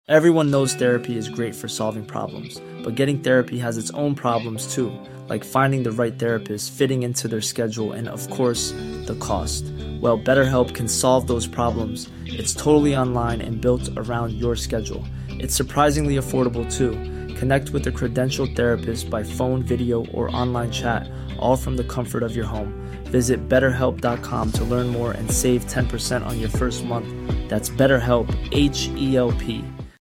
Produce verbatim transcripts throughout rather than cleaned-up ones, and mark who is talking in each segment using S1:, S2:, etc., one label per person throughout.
S1: Everyone knows therapy is great for solving problems, but getting therapy has its own problems too, like finding the right therapist, fitting into their schedule, and of course, the cost. Well, BetterHelp can solve those problems. It's totally online and built around your schedule. It's surprisingly affordable too. Connect with a credentialed therapist by phone, video, or online chat, all from the comfort of your home. Visit better help dot com to learn more and save ten percent on your first month. That's BetterHelp, H E L P.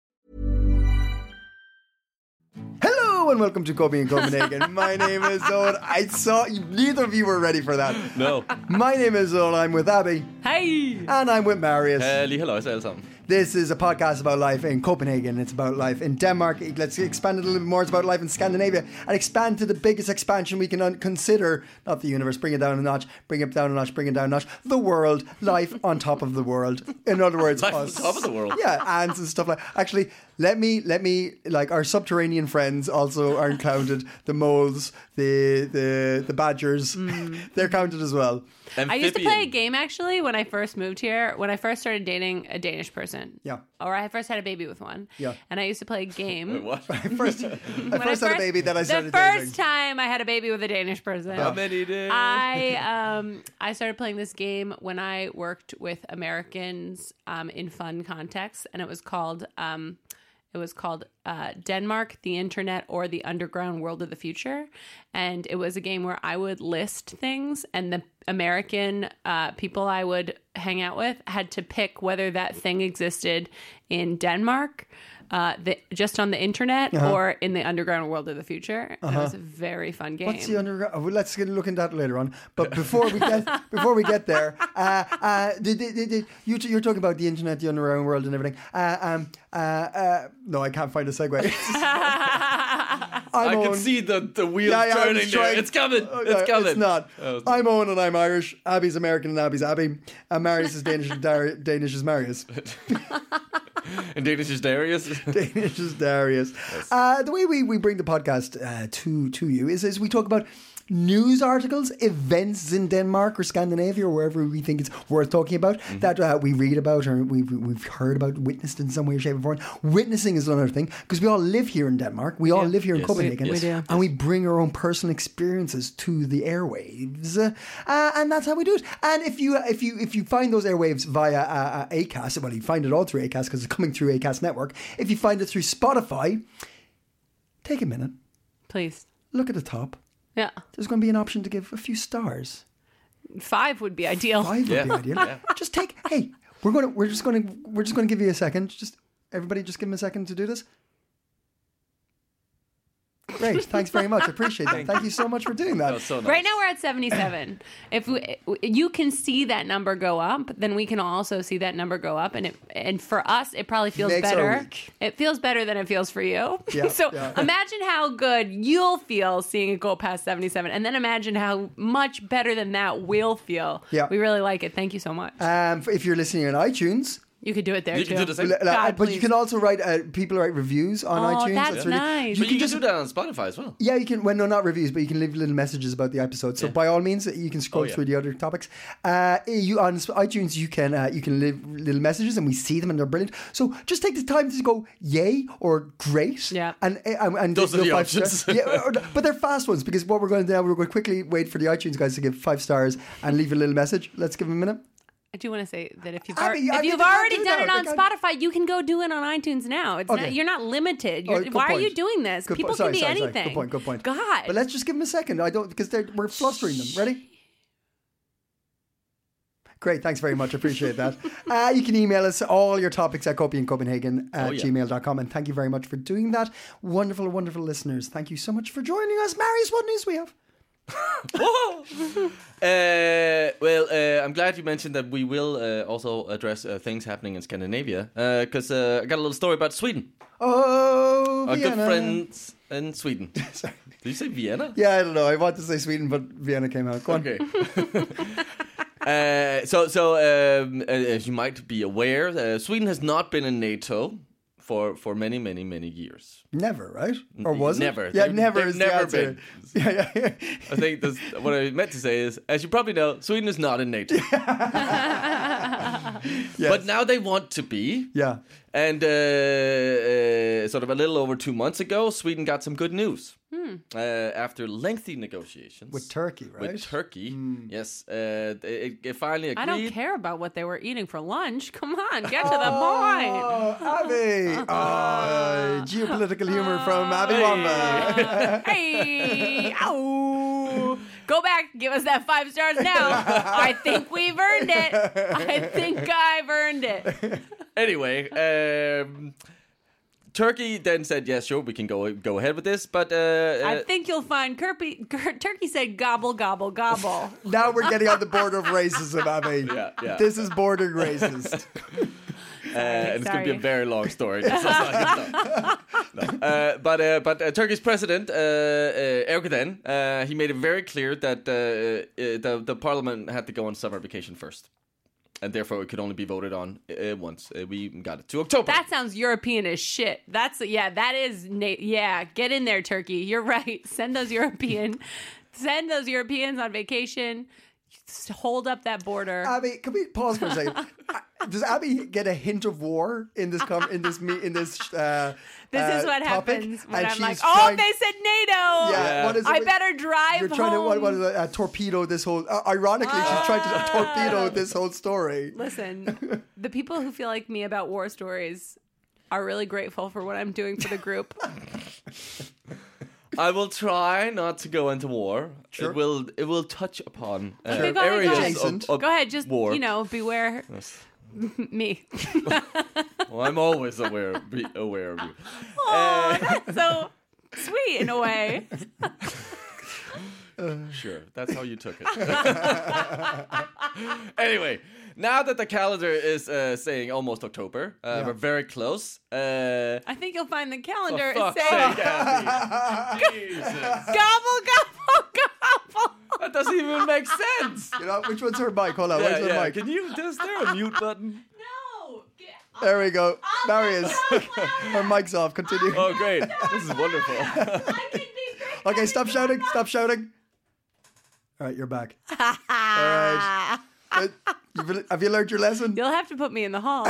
S2: Hello and welcome to Coping in Copenhagen. My name is Owen. I saw you, neither of you were ready for that.
S3: No.
S2: My name is Owen. I'm with Abby.
S4: Hey!
S2: And I'm with Marius.
S3: Uh, lige halløjse alle sammen.
S2: This is a podcast about life in Copenhagen. It's about life in Denmark. Let's expand it a little bit more. It's about life in Scandinavia. And expand to the biggest expansion we can un- consider. Not the universe. Bring it down a notch. Bring it down a notch. Bring it down a notch. The world. Life on top of the world. In other words,
S3: Life
S2: us.
S3: on top of the world.
S2: Yeah, ants and stuff like. Actually, let me let me like our subterranean friends also aren't counted. The moles, the the the badgers, mm. they're counted as well.
S4: Amphibian. I used to play a game actually when I first moved here. When I first started dating a Danish person.
S2: Yeah.
S4: Or I first had a baby with one.
S2: Yeah.
S4: And I used to play a game.
S3: Wait, what?
S2: I first, I first, I first had a baby, then I started
S4: The first
S2: dating.
S4: time I had a baby with a Danish person.
S3: How many days?
S4: I um I started playing this game when I worked with Americans um in fun contexts, and it was called um It was called uh, Denmark, the Internet, or the Underground World of the Future. And it was a game where I would list things, and the American uh, people I would hang out with had to pick whether that thing existed in Denmark, uh, the, just on the Internet, uh-huh. or in the Underground World of the Future. Uh-huh. And it was a very fun game.
S2: What's the underground? Oh, well, let's get a look into that later on. But before we get before we get there, uh, uh, did, did, did, you, you're talking about the Internet, the Underground World, and everything. Uh, um, uh, uh, no, I can't find a segue.
S3: I Owen. Can see the, the wheels yeah, yeah, turning there. It's coming.
S2: Oh,
S3: it's
S2: no,
S3: coming.
S2: It's not. Oh, it's I'm Owen and I'm Irish. Abby's American and Abby's Abby. And Marius is Danish and Dar- Danish is Marius.
S3: And Danish is Darius.
S2: Danish is Darius. Yes. Uh, the way we, we bring the podcast uh, to, to you is, is we talk about news articles, events in Denmark or Scandinavia or wherever we think it's worth talking about, mm-hmm. that uh, we read about or we've, we've heard about, witnessed in some way, shape, or form. Witnessing is another thing, because we all live here in Denmark. We all yeah. live here in yes. Copenhagen.
S4: We, we do.
S2: And we bring our own personal experiences to the airwaves. Uh, uh, and that's how we do it. And if you if you, if you find those airwaves via uh, uh, Acast, well, you find it all through Acast because it's coming through Acast Network. If you find it through Spotify, take a minute.
S4: Please.
S2: Look at the top.
S4: Yeah.
S2: There's going to be an option to give a few stars.
S4: Five would be ideal.
S2: Five would
S3: yeah.
S2: be ideal. Yeah. Just take, hey, we're going to, we're just going to, we're just going to give you a second. Just, everybody just give them a second to do this. Great. Thanks very much. I appreciate that. Thank you so much for doing that.
S3: that so nice.
S4: Right now we're at seventy-seven. If we, you can see that number go up, then we can also see that number go up. And it, and for us, it probably feels
S2: Makes
S4: better. It feels better than it feels for you.
S2: Yeah,
S4: so
S2: yeah.
S4: imagine how good you'll feel seeing it go past seventy-seven. And then imagine how much better than that we'll feel.
S2: Yeah.
S4: We really like it. Thank you so much.
S2: Um, if you're listening on iTunes,
S4: you could do it there
S3: you
S4: too.
S3: Can do the same.
S4: God,
S2: but
S4: please.
S2: you can also write. Uh, people write reviews on
S4: oh,
S2: iTunes.
S4: That's,
S2: that's really,
S4: nice.
S3: You,
S2: you
S3: can,
S2: can just
S3: do that on Spotify as well.
S2: Yeah, you can. Well, no, not reviews, but you can leave little messages about the episode. So yeah. by all means, you can scroll oh, yeah. through the other topics. Uh, you on iTunes, you can uh, you can leave little messages, and we see them, and they're brilliant. So just take the time to go yay or great.
S4: Yeah.
S2: And and, and
S3: those are the options.
S2: yeah, or, but they're fast ones, because what we're going to do now, we're going to quickly wait for the iTunes guys to give five stars and leave a little message. Let's give them a minute.
S4: I do want to say that if you've,
S2: Abby,
S4: ar- if
S2: Abby,
S4: you've
S2: they
S4: already
S2: do
S4: done
S2: that.
S4: it on
S2: They
S4: Spotify, you can go do it on iTunes now. It's
S2: Okay.
S4: not, you're not limited. You're,
S2: Oh, good
S4: why
S2: point.
S4: are you doing this?
S2: Good
S4: People
S2: po- sorry,
S4: can be
S2: sorry,
S4: anything.
S2: Sorry. Good point. Good point.
S4: God.
S2: But let's just give them a second. I don't because they're we're flustering them. Ready? Great, thanks very much. Appreciate that. Uh, you can email us all your topics at copyandcopenhagen at
S3: oh, yeah.
S2: gmail dot com. And thank you very much for doing that. Wonderful, wonderful listeners. Thank you so much for joining us. Marius, what news we have?
S3: uh, well, uh, I'm glad you mentioned that we will uh, also address uh, things happening in Scandinavia, because uh, uh, I got a little story about Sweden.
S2: Oh,
S3: Our
S2: Vienna.
S3: good friends in Sweden.
S2: Sorry.
S3: Did you say Vienna?
S2: Yeah, I don't know. I want to say Sweden, but Vienna came out. Go on.
S3: Okay. uh, so, so um, as you might be aware, uh, Sweden has not been in NATO for for many, many, many years.
S2: Never, right? Or was
S3: never.
S2: it? Yeah,
S3: They've,
S2: never
S3: they've
S2: is
S3: never
S2: the answer.
S3: been.
S2: Yeah, yeah, yeah.
S3: I think that's, what I meant to say is, as you probably know, Sweden is not in NATO.
S2: Yes.
S3: But now they want to be.
S2: Yeah.
S3: And uh, uh, sort of a little over two months ago, Sweden got some good news.
S4: Hmm.
S3: Uh, after lengthy negotiations
S2: With Turkey, right?
S3: with Turkey, yes, uh, it, it finally agreed.
S4: I don't care about what they were eating for lunch. Come on, get to the point.
S2: Oh, Abby! Oh, geopolitical humor from Abby Wamba.
S4: Hey, ow. Go back, give us that five stars now. I think we've earned it. I think I've earned it.
S3: Anyway, um, Turkey then said, "Yes, sure, we can go go ahead with this." But uh,
S4: I
S3: uh,
S4: think you'll find Kirby, Turkey said gobble, gobble, gobble.
S2: Now we're getting on the border of racism, Abby.
S3: Yeah, yeah.
S2: This is bordering racist.
S3: Uh, and it's going to be a
S4: sorry.
S3: very long story. It's also like- no. No. Uh, but uh, but uh, Turkey's president uh, uh, Erdogan, uh, he made it very clear that uh, uh, the the parliament had to go on summer vacation first, and therefore it could only be voted on uh, once. Uh, we got it to October.
S4: That sounds European as shit. That's yeah, that is na- yeah. Get in there, Turkey. You're right. Send those European, send those Europeans on vacation. Just hold up that border.
S2: Abby, can we pause for a second? Uh, Does Abby get a hint of war in this com- in this me- in this? Uh,
S4: This
S2: uh,
S4: is what
S2: topic?
S4: happens when
S2: And
S4: I'm
S2: she's
S4: like, oh,
S2: trying-
S4: they said NATO.
S2: Yeah,
S3: Yeah.
S2: what is it?
S4: I better drive
S2: You're trying
S4: home.
S2: to what, what is it, uh, torpedo this whole. Uh, ironically, she's trying to torpedo this whole story.
S4: Listen, the people who feel like me about war stories are really grateful for what I'm doing for the group.
S3: I will try not to go into war.
S2: Sure.
S3: It will it will touch upon uh,
S4: Okay, go ahead, go
S3: areas
S4: ahead.
S3: of,
S2: Adjacent.
S3: of
S4: Go ahead, just
S3: war.
S4: you know, beware me.
S3: Well, I'm always aware be aware of you.
S4: Oh, that's so sweet in a way.
S3: Sure, that's how you took it. Anyway, now that the calendar is uh, saying almost October, uh,
S2: Yeah.
S3: we're very close. Uh,
S4: I think you'll find the
S3: for
S4: calendar is
S3: fuck's
S4: saying
S3: sake, Abby. Jesus.
S4: gobble, gobble, gobble.
S3: That doesn't even make sense.
S2: You know which one's her mic? Hold on,
S3: Yeah,
S2: where's her
S3: yeah.
S2: mic?
S3: Can you? Is there a mute button?
S4: No. Get-
S2: There we go. Marius, her mic's off. Continue.
S3: Oh, great! This is wonderful.
S4: I can be great.
S2: Okay, stop shouting. Stop shouting. All right, you're back. All right. Good. You've- Have you learned your lesson?
S4: You'll have to put me in the hall.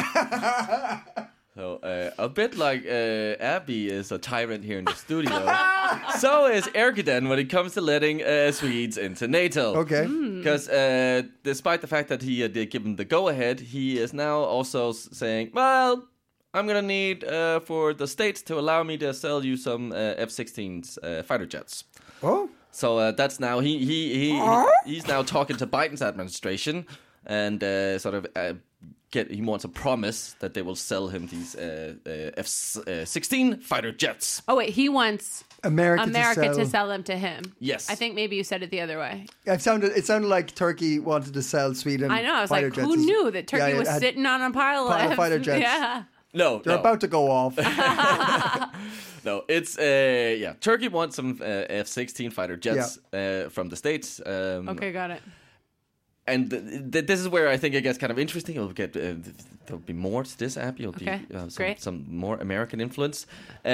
S3: So uh, a bit like uh, Abby is a tyrant here in the studio, so is Erdogan when it comes to letting uh, Swedes into NATO.
S2: Okay.
S3: Because uh, despite the fact that he uh, did give him the go-ahead, he is now also s- saying, well, I'm going to need uh, for the states to allow me to sell you some uh, F sixteens uh, fighter jets.
S2: Oh.
S3: So uh, that's now, he, he, he, he's now talking to Biden's administration and uh, sort of... Uh, Get, he wants a promise that they will sell him these uh, uh, F sixteen fighter jets.
S4: Oh wait, he wants
S2: America,
S4: America
S2: to, sell.
S4: to sell them to him.
S3: Yes.
S4: I think maybe you said it the other way.
S2: It sounded. It sounded like Turkey wanted to sell Sweden.
S4: I know. I was
S2: fighter
S4: like,
S2: jets.
S4: who knew that Turkey
S2: Yeah, yeah,
S4: was
S2: it had-
S4: sitting on a pile,
S2: pile of
S4: of
S2: fighter jets.
S4: Yeah.
S3: No,
S2: They're
S3: no,
S2: about to go off.
S3: no. It's uh, yeah. Turkey wants some uh, F sixteen fighter jets uh, from the States. Um,
S4: Okay, got it.
S3: And th- th- this is where I think it gets kind of interesting. You'll get uh, th- there'll be more to this app. You'll
S4: Okay,
S3: be uh, some,
S4: great.
S3: some more American influence,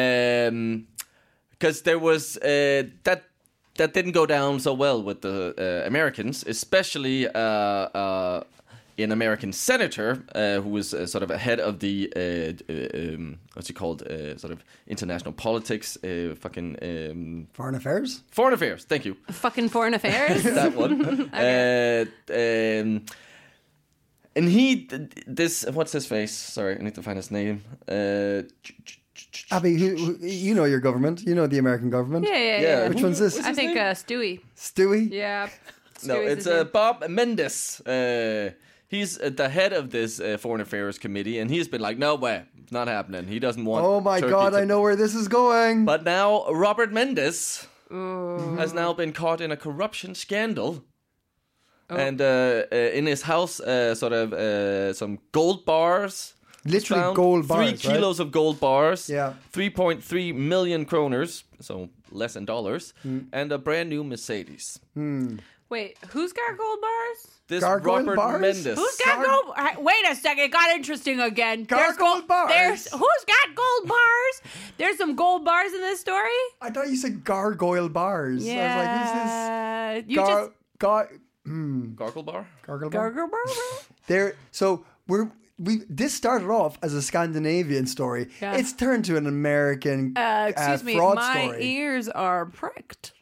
S3: because there was uh, that that didn't go down so well with the uh, Americans, especially uh, uh, an American senator uh, who was uh, sort of ahead of the uh, uh, um, what's he called, uh, sort of international politics, uh, fucking um,
S2: Foreign affairs.
S3: foreign affairs. Thank you.
S4: Fucking foreign affairs.
S3: That one. uh, um, and he, this, what's his face? Sorry, I need to find his name. Uh,
S2: Abby, who, who, you know your government. You know the American government.
S4: Yeah, yeah,
S3: Yeah.
S4: yeah.
S2: Which one's this?
S4: I think uh, Stewie.
S2: Stewie.
S4: Yeah.
S3: no,
S4: Stewie's
S3: it's
S4: his
S3: uh,
S4: name.
S3: Bob Mendes. Uh, he's at the head of this uh, foreign affairs committee, and he's been like, no way, it's not happening. He doesn't want.
S2: Oh my
S3: Turkey
S2: God!
S3: to-
S2: I know where this is going.
S3: But now Robert Mendes has now been caught in a corruption scandal.
S4: Oh.
S3: And uh, uh, in his house, uh, sort of uh, some gold bars.
S2: Literally
S3: found.
S2: gold
S3: Three
S2: bars, right?
S3: kilos of gold bars.
S2: Yeah.
S3: three point three million kroners, so less than dollars,
S2: Hmm.
S3: and a brand new Mercedes.
S4: Wait, who's got gold bars?
S3: This
S2: Gargoyle
S3: Robert
S2: bars?
S3: Mendes.
S4: Who's got
S2: Gar-
S4: gold? uh, Wait a second, it got interesting again. There's
S2: Gargoyle
S4: gold
S2: bars.
S4: There's who's got gold bars? There's some gold bars in this story.
S2: I thought you said gargoyle bars.
S4: Yeah.
S2: I was like, who's this?
S4: You
S2: Gar-
S4: just
S2: gar-
S3: Gargle bar?
S2: gargoyle bar?
S4: gargle bar.
S2: There. So we're we this started off as a Scandinavian story.
S4: Yeah.
S2: It's turned to an American
S4: Uh, excuse
S2: uh,
S4: me,
S2: fraud
S4: my
S2: story.
S4: ears are pricked.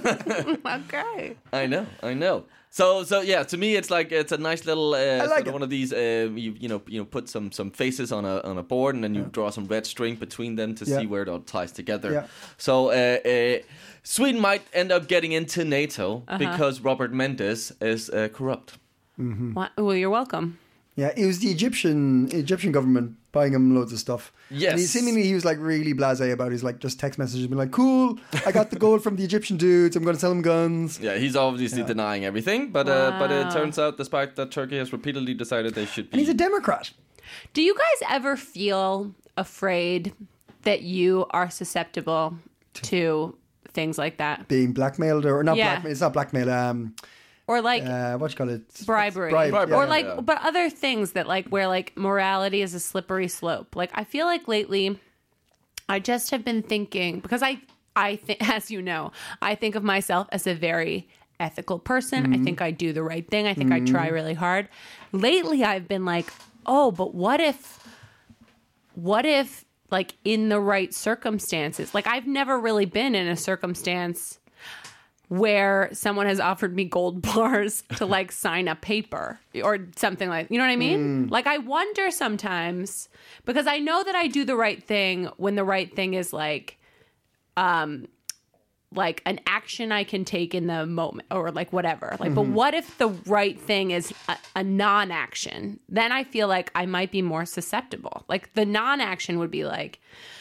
S4: Okay.
S3: I know, I know. So, so yeah, to me, it's like it's a nice little uh,
S2: like
S3: sort
S2: it.
S3: of one of these. Uh, you you know you know put some some faces on a on a board, and then you draw some red string between them to
S2: Yeah.
S3: see where it all ties together.
S2: Yeah.
S3: So, uh, uh, Sweden might end up getting into NATO
S4: Uh-huh.
S3: because Robert Mendes is uh, corrupt.
S4: What? Well, you're welcome.
S2: Yeah, it was the Egyptian Egyptian government buying him loads of stuff.
S3: Yes.
S2: And he seemingly he was like really blasé about his like just text messages, being like, "Cool, I got the gold from the Egyptian dudes. I'm going to sell them guns."
S3: Yeah, he's obviously denying everything, but uh, but it
S4: Wow.
S3: turns out, despite that, Turkey has repeatedly decided they should be.
S2: And he's a Democrat.
S4: Do you guys ever feel afraid that you are susceptible to things like that?
S2: Being blackmailed or not
S4: Yeah.
S2: blackmail. It's not blackmail. Um,
S4: Or like
S2: uh, what you call it?
S4: bribery,
S2: Bribe,
S3: Bribery.
S2: yeah.
S4: or like,
S3: yeah.
S4: but other things that like where like morality is a slippery slope. Like I feel like lately, I just have been thinking because I, I think, as you know, I think of myself as a very ethical person.
S2: Mm-hmm.
S4: I think I do the right thing. I think I try really hard. Lately, I've been like, oh, but what if, what if like in the right circumstances, like I've never really been in a circumstance where someone has offered me gold bars to like sign a paper or something like, you know what I mean? Like I wonder sometimes because I know that I do the right thing when the right thing is like, um, like an action I can take in the moment or like whatever. Like, but what if the right thing is a, a non-action? Then I feel like I might be more susceptible. Like the non-action would be like,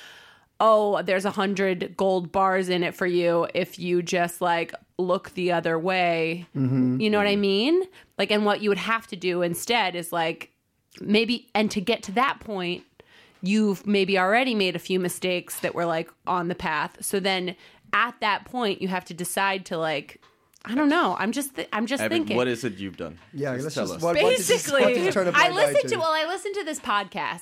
S4: oh, there's a hundred gold bars in it for you if you just like look the other way. You know what I mean? Like, and what you would have to do instead is like maybe, and to get to that point, you've maybe already made a few mistakes that were like on the path. So then at that point, you have to decide to like, I don't know. I'm just, th- I'm just
S3: Evan,
S4: thinking.
S3: what is it you've done?
S2: Yeah,
S3: Just
S2: let's
S3: tell
S2: just
S3: us.
S2: what, what did you-
S4: Basically,
S2: what did you turn a
S4: I
S2: blind eye
S4: listened to
S2: to?
S4: well, I listened to this podcast.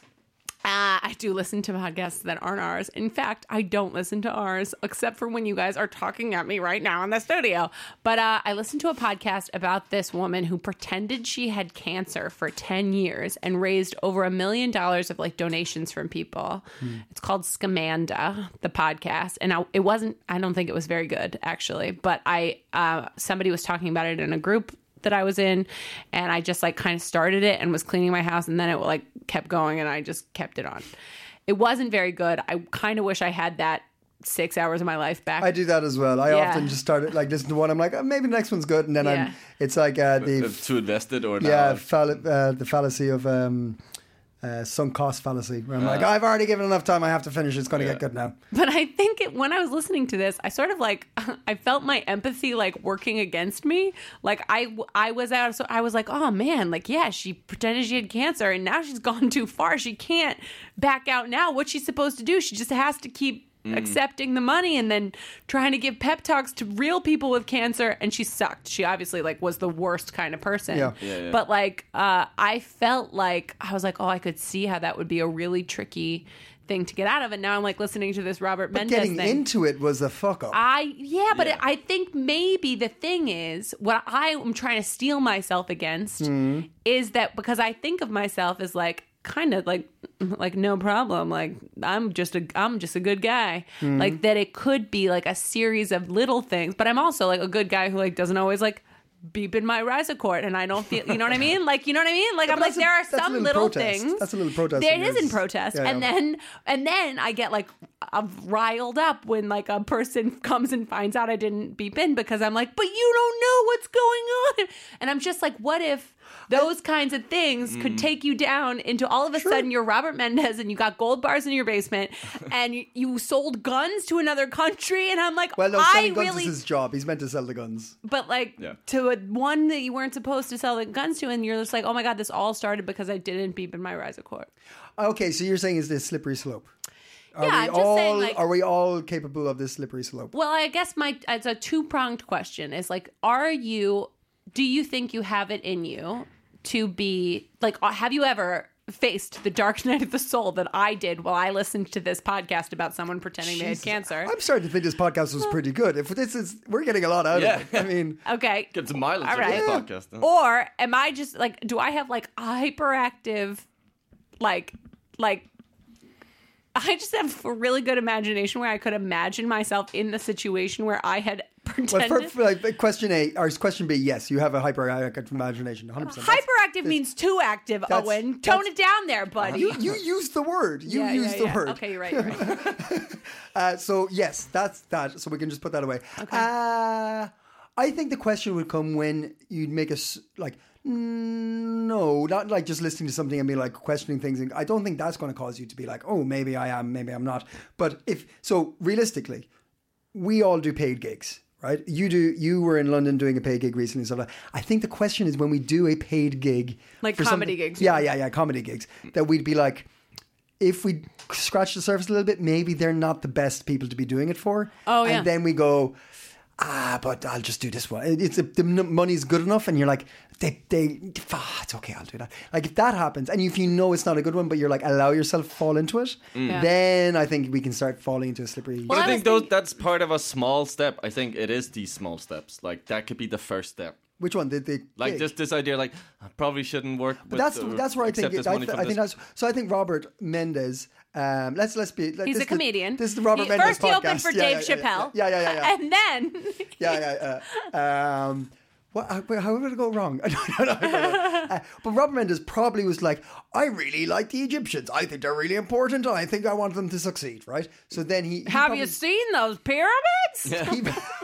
S4: Uh, I do listen to podcasts that aren't ours. In fact, I don't listen to ours except for when you guys are talking at me right now in the studio. But uh, I listened to a podcast about this woman who pretended she had cancer for ten years and raised over a million dollars of like donations from people.
S2: Hmm.
S4: It's called Scamanda, the podcast. And I, it wasn't, I don't think it was very good actually, but I, uh, somebody was talking about it in a group that I was in, and I just like kind of started it and was cleaning my house, and then it like kept going, and I just kept it on. It wasn't very good. I kind of wish I had that six hours of my life back.
S2: I do that as well. I
S4: Yeah.
S2: often just start it like listen to one. I'm like, oh, maybe the next one's good, and then
S4: Yeah.
S2: I'm. It's like uh, the
S3: Uh, too invested or
S2: yeah,
S3: not?
S2: fall- uh, the fallacy of um, uh, sunk cost fallacy. Where I'm like, I've already given enough time. I have to finish. It's going to
S3: Yeah.
S2: get good now.
S4: But I think it, when I was listening to this, I sort of like I felt my empathy like working against me. Like I I was out, so I was like, oh man, like yeah, she pretended she had cancer, and now she's gone too far. She can't back out now. What's she supposed to do? She just has to keep accepting the money and then trying to give pep talks to real people with cancer. And she sucked. She obviously like was the worst kind of person.
S2: Yeah.
S3: Yeah, yeah.
S4: But like uh, I felt like I was like, oh, I could see how that would be a really tricky thing to get out of. And now I'm like listening to this Robert
S2: But
S4: Mendes
S2: getting
S4: thing.
S2: into it was a fuck up.
S4: I yeah, but
S3: Yeah.
S4: It, I think maybe the thing is what I am trying to steel myself against is that because I think of myself as like kind of like like no problem, like I'm just a I'm just a good guy, like that it could be like a series of little things, but I'm also like a good guy who like doesn't always like beep in my Rizacord, and I don't feel, you know what I mean? Like, you know what I mean? Like,
S2: Yeah,
S4: I'm
S2: but
S4: like,
S2: that's a-
S4: there are
S2: that's a
S4: some
S2: little
S4: little
S2: protest.
S4: things.
S2: That's a little protest
S4: There
S2: in
S4: it is in
S2: yours.
S4: protest.
S2: Yeah,
S4: and
S2: yeah.
S4: then, and then I get like uh, riled up when like a person comes and finds out I didn't beep in because I'm like, but you don't know what's going on. And I'm just like, what if those kinds of things could take you down into all of a sudden you're Robert Mendes and you got gold bars in your basement and you, you sold guns to another country, and I'm like,
S2: Well, no,
S4: I
S2: selling guns
S4: really
S2: is his job. He's meant to sell the guns.
S4: but like
S3: Yeah.
S4: to a one that you weren't supposed to sell the guns to, and you're just like, oh my god, this all started because I didn't beep in my Rizacord.
S2: Okay, so you're saying is this slippery slope? Are
S4: Yeah,
S2: we
S4: I'm just
S2: all,
S4: saying, like-
S2: are we all capable of this slippery slope?
S4: Well, I guess my it's a two pronged question. Is like, are you? Do you think you have it in you to be like? Have you ever faced the dark night of the soul that I did while I listened to this podcast about someone pretending
S2: Jesus.
S4: they had cancer.
S2: I'm starting to think this podcast was pretty good. If this is, we're getting a lot out
S3: Yeah.
S2: of it. I mean,
S4: Okay.
S3: Get some mileage
S4: All
S3: on this
S4: right.
S3: podcast. huh?
S4: Or am I just like, do I have like a hyperactive, like, like, I just have a really good imagination where I could imagine myself in the situation where I had
S2: well,
S4: pretended.
S2: for, for like question A or question B, yes, you have a hyperactive imagination, one hundred percent. That's-
S4: Hyperactive means too active,
S2: that's-
S4: Owen. Tone
S2: that's-
S4: it down there, buddy.
S2: You you used the word. You
S4: yeah,
S2: used
S4: yeah,
S2: the
S4: yeah.
S2: word.
S4: Okay, you're right. You're right.
S2: Uh, so yes, that's that. So we can just put that away.
S4: Okay.
S2: Uh, I think the question would come when you'd make us like, mm, no, not like just listening to something and be like questioning things. And I don't think that's going to cause you to be like, oh, maybe I am, maybe I'm not. But if so, realistically, we all do paid gigs. Right, you do. You were in London doing a paid gig recently. So I think the question is when we do a paid gig,
S4: Like
S2: for
S4: comedy
S2: something-
S4: gigs,
S2: Yeah,
S4: yeah.
S2: yeah, yeah, comedy gigs. That we'd be like, if we scratch the surface a little bit, maybe they're not the best people to be doing it for.
S4: Oh, yeah.
S2: And then we go, ah, but I'll just do this one. It's a, the money's good enough, and you're like, they, they, ah, it's okay, I'll do that. Like if that happens, and if you know it's not a good one, but you're like, allow yourself to fall into it,
S4: Yeah.
S2: then I think we can start falling into a slippery.
S3: But
S4: Well,
S3: I
S4: I
S3: think
S4: was
S3: those that's part of a small step. I think it is these small steps. Like that could be the first step.
S2: Which one? The, the
S3: Like
S2: gig?
S3: just this idea, like I probably shouldn't work.
S2: But
S3: With,
S2: that's
S3: uh,
S2: that's where I think
S3: accept
S2: it,
S3: this
S2: I,
S3: money
S2: th-
S3: from
S2: I think
S3: this.
S2: that's so. I think Robert Mendez. Um, let's let's be. Like,
S4: He's
S2: this
S4: a
S2: is the-
S4: comedian.
S2: this is the Robert
S4: He-
S2: Mendez
S4: First, he
S2: podcast.
S4: opened for
S2: Yeah,
S4: Dave
S2: yeah, yeah,
S4: Chappelle.
S2: Yeah, yeah, yeah, yeah.
S4: And then
S2: yeah, yeah, yeah. Um, what? How, how did it go wrong? I don't know. I don't know. Uh, but Robert Mendez probably was like, I really like the Egyptians. I think they're really important. And I think I want them to succeed. Right. So then he. he
S4: have
S2: probably,
S4: you seen those pyramids?
S2: He,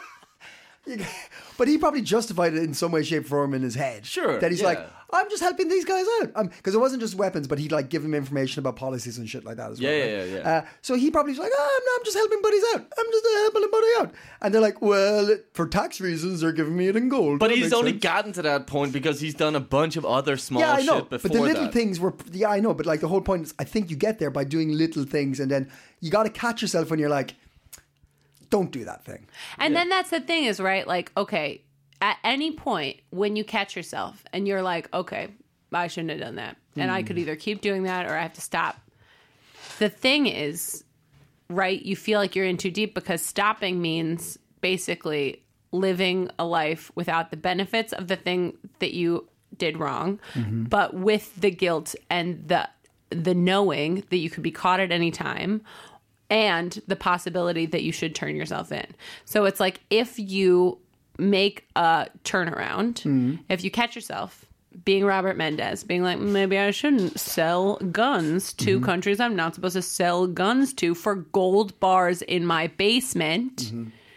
S2: but he probably justified it in some way, shape, form in his head.
S3: Sure,
S2: That he's
S3: yeah.
S2: like, I'm just helping these guys out. Because it wasn't just weapons, but he'd like give them information about policies and shit like that as well.
S3: Yeah,
S2: right?
S3: yeah, yeah, yeah.
S2: Uh, so he probably was like, oh, I'm, I'm just helping buddies out. I'm just uh, helping a buddy out. And they're like, well, for tax reasons, they're giving me it in gold.
S3: But
S2: That
S3: he's
S2: makes
S3: only
S2: sense.
S3: gotten to that point because he's done a bunch of other small
S2: Yeah, I know.
S3: shit before
S2: But the little
S3: that.
S2: things were, yeah, I know. But like the whole point is, I think you get there by doing little things. And then you got to catch yourself when you're like, don't do that thing.
S4: And then that's the thing is, right? Like, okay, at any point when you catch yourself and you're like, okay, I shouldn't have done that. And I could either keep doing that or I have to stop. The thing is, right, you feel like you're in too deep because stopping means basically living a life without the benefits of the thing that you did wrong, but with the guilt and the the knowing that you could be caught at any time and the possibility that you should turn yourself in. So it's like if you make a turnaround, if you catch yourself being Robert Mendez, being like, maybe I shouldn't sell guns to countries I'm not supposed to sell guns to for gold bars in my basement.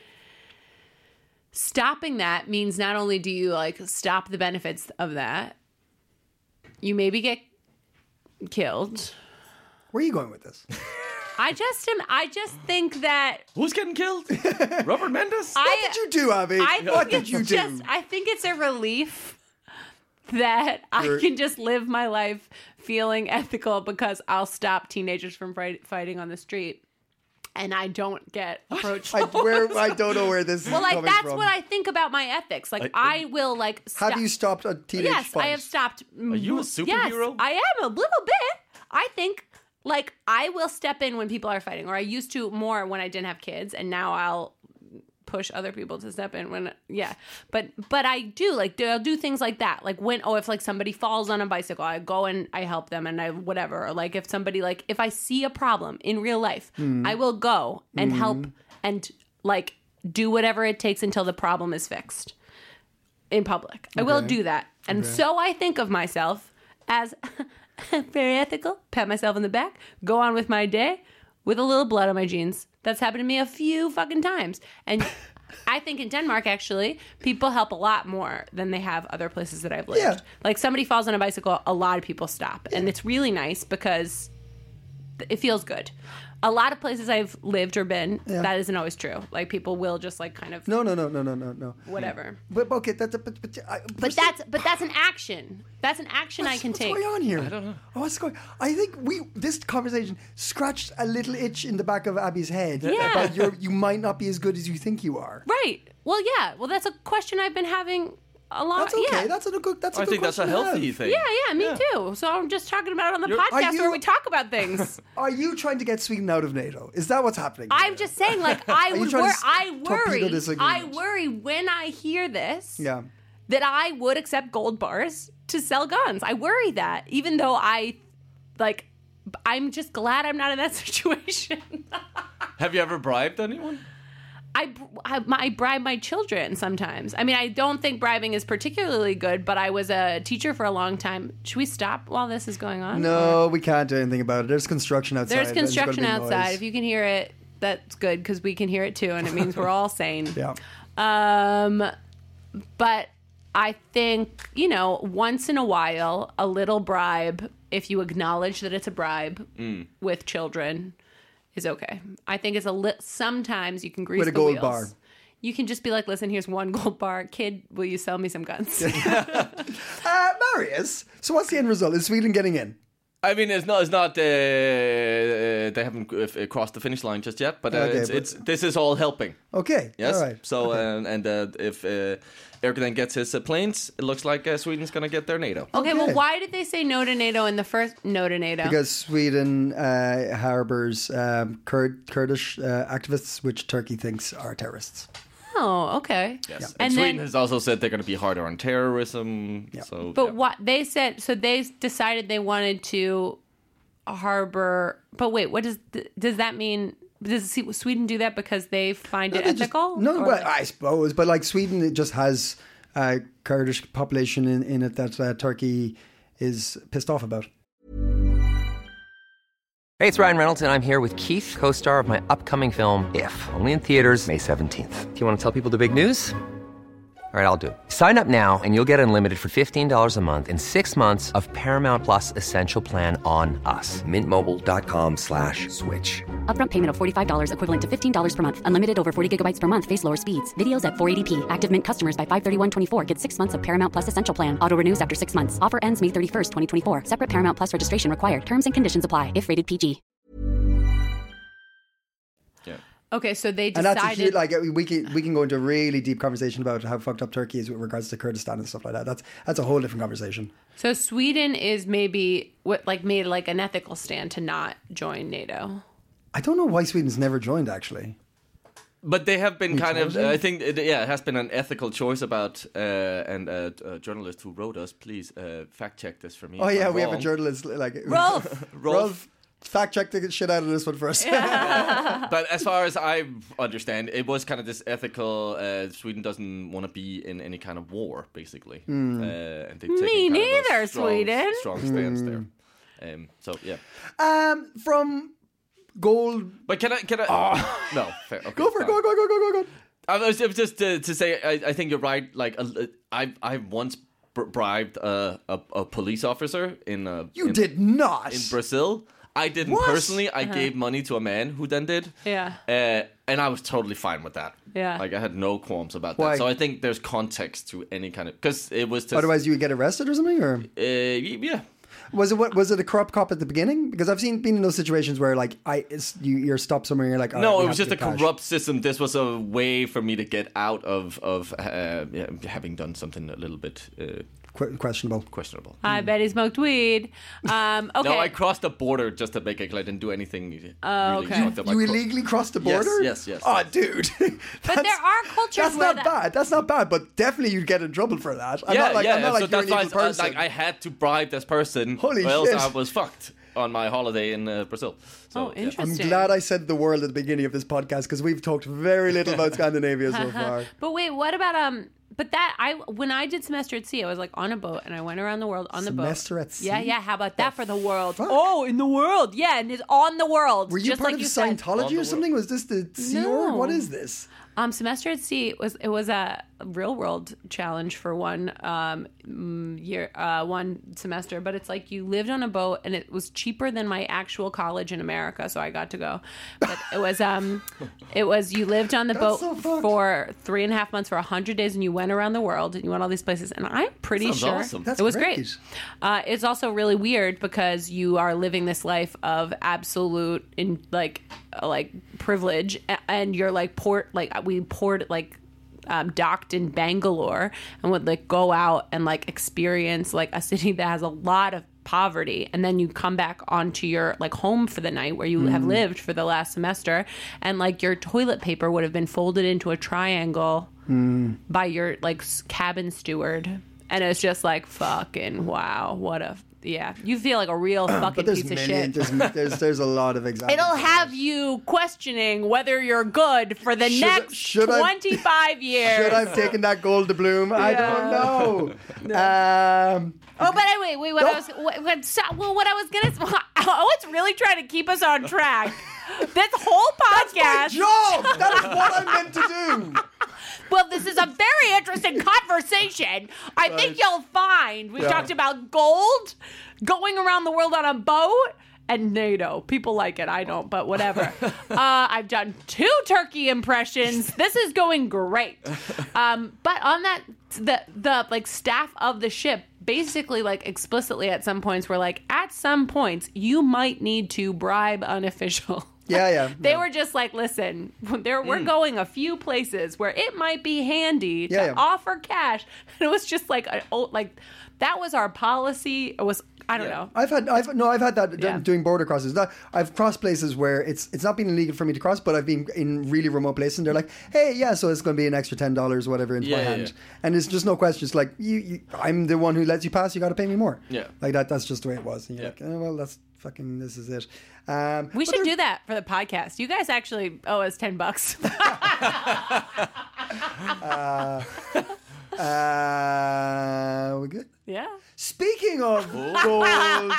S4: Stopping that means not only do you like stop the benefits of that, you maybe get killed.
S2: Where are you going with this?
S4: I just am. I just think that
S3: Who's getting killed? Robert Mendes?
S4: I.
S2: What did you do, Abby?
S4: I think
S2: What did
S4: it's
S2: you do?
S4: just. I think it's a relief that
S2: You're-
S4: I can just live my life feeling ethical because I'll stop teenagers from fight, fighting on the street, and I don't get approached.
S2: I, where, I don't know where this is
S4: well, like
S2: coming
S4: that's
S2: from.
S4: what I think about my ethics. Like I, will like. Stop.
S2: Have you stopped a teenage
S4: Yes,
S2: fight?
S4: I have stopped.
S3: Are you a
S4: Yes,
S3: superhero?
S4: I am a little bit. I think like I will step in when people are fighting, or I used to more when I didn't have kids, and now I'll push other people to step in when yeah. But but I do like do, I'll do things like that. Like when oh if like somebody falls on a bicycle, I go and I help them and I whatever. Or like if somebody like if I see a problem in real life,
S2: Hmm.
S4: I will go and help and like do whatever it takes until the problem is fixed in public. I will do that. And so I think of myself as very ethical, pat myself on the back, go on with my day with a little blood on my jeans. That's happened to me a few fucking times. And I think in Denmark, actually, people help a lot more than they have other places that I've lived.
S2: Yeah.
S4: Like somebody falls on a bicycle, a lot of people stop. And it's really nice because it feels good. A lot of places I've lived or been, that isn't always true. Like people will just like kind of
S2: No, no, no, no, no, no, no.
S4: whatever.
S2: But okay, that's a, but, but, I,
S4: But that's but that's an action. That's an action I can
S2: what's
S4: take.
S2: going on here? I don't know. Oh, what's going? I think we this conversation scratched a little itch in the back of Abby's head
S4: Yeah.
S2: about your you might not be as good as you think you are.
S4: Right. Well, yeah. Well, that's a question I've been having a lot.
S2: That's okay.
S4: Yeah.
S2: That's a good. That's a
S3: I
S2: good
S3: think that's a
S2: question to
S3: healthy
S2: have.
S3: thing.
S4: Yeah, yeah, me too. So I'm just talking about it on the
S3: You're-
S4: podcast
S2: Are you-
S4: where we talk about things.
S2: Are you trying to get Sweden out of NATO? Is that what's happening?
S4: I'm just saying, like, I
S2: you
S4: would
S2: trying
S4: wor-
S2: to s-
S4: I
S2: torpedo
S4: worry.
S2: this
S4: I
S2: agreement?
S4: worry when I hear this
S2: Yeah.
S4: that I would accept gold bars to sell guns. I worry that, even though I, like, I'm just glad I'm not in that situation.
S3: Have you ever bribed anyone?
S4: I, I, I bribe my children sometimes. I mean, I don't think bribing is particularly good, but I was a teacher for a long time. Should we stop while this is going on?
S2: No, we can't do anything about it. There's construction outside.
S4: There's
S2: and there's gonna
S4: construction
S2: be
S4: outside.
S2: noise.
S4: If you can hear it, that's good because we can hear it too, and it means we're all sane.
S2: Yeah.
S4: Um, but I think, you know, once in a while, a little bribe, if you acknowledge that it's a bribe with children, is okay. I think it's a li- sometimes you can grease
S2: With a
S4: the
S2: gold
S4: wheels.
S2: bar.
S4: You can just be like, listen, here's one gold bar. Kid, will you sell me some guns?
S2: Uh, Marius, so what's the end result? Is Sweden getting in?
S3: I mean, it's not. It's not. Uh, uh, they haven't uh, crossed the finish line just yet. But, uh,
S2: Okay,
S3: it's,
S2: but-
S3: it's. This is all helping.
S2: Okay.
S3: Yes.
S2: All right.
S3: So
S2: Okay.
S3: uh, and uh, if uh, Eric then gets his uh, planes, it looks like uh, Sweden's gonna get their NATO.
S4: Okay,
S2: Okay.
S4: well, why did they say no to NATO in the first no to NATO?
S2: Because Sweden uh, harbors um, Kurd, Kurdish uh, activists, which Turkey thinks are terrorists.
S4: oh, okay.
S3: Yes. And,
S4: And
S3: Sweden
S4: then-
S3: has also said they're going to be harder on terrorism. So,
S4: But
S3: yeah.
S4: what they said, so they decided they wanted to harbor. But wait, what does th- does that mean? Does Sweden do that because they find it
S2: They just-
S4: ethical?
S2: no,
S4: Or-
S2: well, I suppose, but like Sweden, it just has a Kurdish population in, in it that uh, Turkey is pissed off about.
S5: Hey, it's Ryan Reynolds, and I'm here with Keith, co-star of my upcoming film, If, only in theaters May seventeenth. Do you want to tell people the big news? All right, I'll do it. Sign up now and you'll get unlimited for fifteen dollars a month and six months of Paramount Plus Essential Plan on us. Mint Mobile dot com slash switch.
S6: Upfront payment of forty-five dollars equivalent to fifteen dollars per month. Unlimited over forty gigabytes per month. Face lower speeds. Videos at four eighty p. Active Mint customers by five thirty-one twenty-four get six months of Paramount Plus Essential Plan. Auto renews after six months. Offer ends May thirty-first, twenty twenty-four. Separate Paramount Plus registration required. Terms and conditions apply if rated P G.
S4: Okay, so they
S2: And that's a
S4: decided.
S2: huge, like we can we can go into a really deep conversation about how fucked up Turkey is with regards to Kurdistan and stuff like that. That's that's a whole different conversation.
S4: so Sweden is maybe what like made like an ethical stand to not join NATO.
S2: I don't know why Sweden's never joined actually.
S3: But they have been kind of.
S2: challenging?
S3: I think, it, yeah, it has been an ethical choice about. Uh, and uh, a journalist who wrote us, please uh, fact check this for me.
S2: Oh
S3: if
S2: yeah,
S3: I'm
S2: we have a
S3: wrong.
S2: journalist like
S4: Rolf!
S2: Rolf, fact check the shit out of this one first.
S3: But as far as I understand, it was kind of this ethical. Uh, Sweden doesn't want to be in any kind of war, basically.
S2: Hmm.
S3: Uh, and they've
S4: Me
S3: taken kind of a
S4: neither,
S3: strong,
S4: Sweden.
S3: Strong stance there. Um, so yeah,
S2: um, from gold.
S3: but can I? Can I? No, fair. Okay,
S2: Go for it.
S3: fine.
S2: Go go go go go go.
S3: I was, it was just to, to say, I, I think you're right. Like, uh, I I once br- bribed a, a a police officer in uh,
S2: You
S3: in,
S2: did not.
S3: in Brazil. I didn't
S2: What?
S3: personally. I gave money to a man who then did.
S4: Yeah.
S3: Uh, and I was totally fine with that.
S4: Yeah.
S3: Like I had no qualms about
S2: Why?
S3: that. So I think there's context to any kind of because it was just
S2: Otherwise, you would get arrested or something, or
S3: Uh, yeah.
S2: was it what? Was it a corrupt cop at the beginning? Because I've seen been in those situations where like I, it's, you, you're stopped somewhere, and you're like, all
S3: No,
S2: right, we
S3: it was
S2: have
S3: just
S2: to
S3: a
S2: get cash.
S3: corrupt system. This was a way for me to get out of of uh, yeah, having done something a little bit uh,
S2: Que- questionable.
S3: questionable.
S4: I bet he smoked weed. Um, okay.
S3: No, I crossed the border just to make it. I didn't do anything.
S4: Oh,
S3: really
S4: okay.
S3: fucked up. I
S2: You
S3: cro-
S2: illegally crossed the
S3: Yes,
S2: border?
S3: yes, yes.
S2: Oh, dude.
S4: but there are cultures
S2: That's
S4: where
S2: not
S4: that,
S2: bad. That's not bad. But definitely you'd get in trouble for that. I'm
S3: yeah,
S2: not like,
S3: yeah.
S2: I'm not
S3: so
S2: like you're an
S3: that's why
S2: evil
S3: uh,
S2: person.
S3: like I had to bribe this person,
S2: Holy
S3: or else
S2: shit.
S3: I was fucked on my holiday in uh, Brazil. So,
S4: Oh,
S3: yeah.
S2: I'm
S4: interesting.
S2: glad I said the world at the beginning of this podcast because we've talked very little about Scandinavia so far.
S4: But wait, what about um? But that I when I did semester at sea, I was like on a boat and I went around the world on the boat.
S2: Semester at sea?
S4: Yeah, yeah. How about that for the world?
S2: fuck?
S4: Oh, in the world, yeah, and it's on the world.
S2: Were you
S4: just
S2: part
S4: like
S2: of
S4: you said.
S2: Scientology or something? Was this the Sea
S4: No.
S2: Org? What is this?
S4: Um, semester at sea was it was a real world challenge for one um mm, year uh one semester, but it's like you lived on a boat and it was cheaper than my actual college in America, so I got to go. But it was um it was you lived on the
S2: That's
S4: boat
S2: so fucked.
S4: for three and a half months for a hundred days, and you went around the world and you went all these places, and I'm pretty
S3: Sounds
S4: sure
S3: awesome.
S2: That's
S4: it was
S2: great.
S4: great. Uh, it's also really weird because you are living this life of absolute in like uh, like privilege, a- and you're like port like we poured like um, docked in Bangalore and would like go out and like experience like a city that has a lot of poverty, and then you come back onto your like home for the night where you mm. have lived for the last semester, and like your toilet paper would have been folded into a triangle mm. by your like cabin steward, and it's just like fucking wow, what a yeah, you feel like a real fucking piece of
S2: million,
S4: shit.
S2: There's, there's there's a lot of examples.
S4: It'll have you questioning whether you're good for the should, next should twenty-five
S2: I,
S4: years.
S2: Should I have taken that gold to bloom? Yeah. I don't know. no. um,
S4: oh, but anyway, wait. What no. I was what, what, well, what I was gonna. Oh, it's really trying to keep us on track. This whole podcast.
S2: That's my job. That's what I'm meant to do.
S4: Well, this is a very interesting conversation. I right. think you'll find we yeah. talked about gold, going around the world on a boat, and NATO. People like it. I don't, but whatever. uh, I've done two turkey impressions. This is going great. Um, but on that, the the like staff of the ship basically like explicitly at some points were like, at some points you might need to bribe an official.
S2: Yeah, yeah.
S4: They
S2: yeah.
S4: were just like, listen, there we're mm. going a few places where it might be handy to
S2: yeah, yeah.
S4: offer cash. And it was just like, a, like that was our policy. It was, I don't yeah. know.
S2: I've had, I've no, I've had that
S4: yeah.
S2: doing border crosses. That, I've crossed places where it's it's not been illegal for me to cross, but I've been in really remote places, and they're like, hey, yeah, so it's going to be an extra ten dollars, whatever, into
S3: yeah,
S2: my
S3: yeah,
S2: hand,
S3: yeah.
S2: and it's just no question. It's like you, you, I'm the one who lets you pass. You got to pay me more.
S3: Yeah,
S2: like that. That's just the way it was. And you're
S3: yeah.
S2: like, oh, well, that's. Fucking, this is it. Um,
S4: we should do that for the podcast. You guys actually owe us ten bucks.
S2: uh, uh, we good?
S4: Yeah.
S2: Speaking of gold,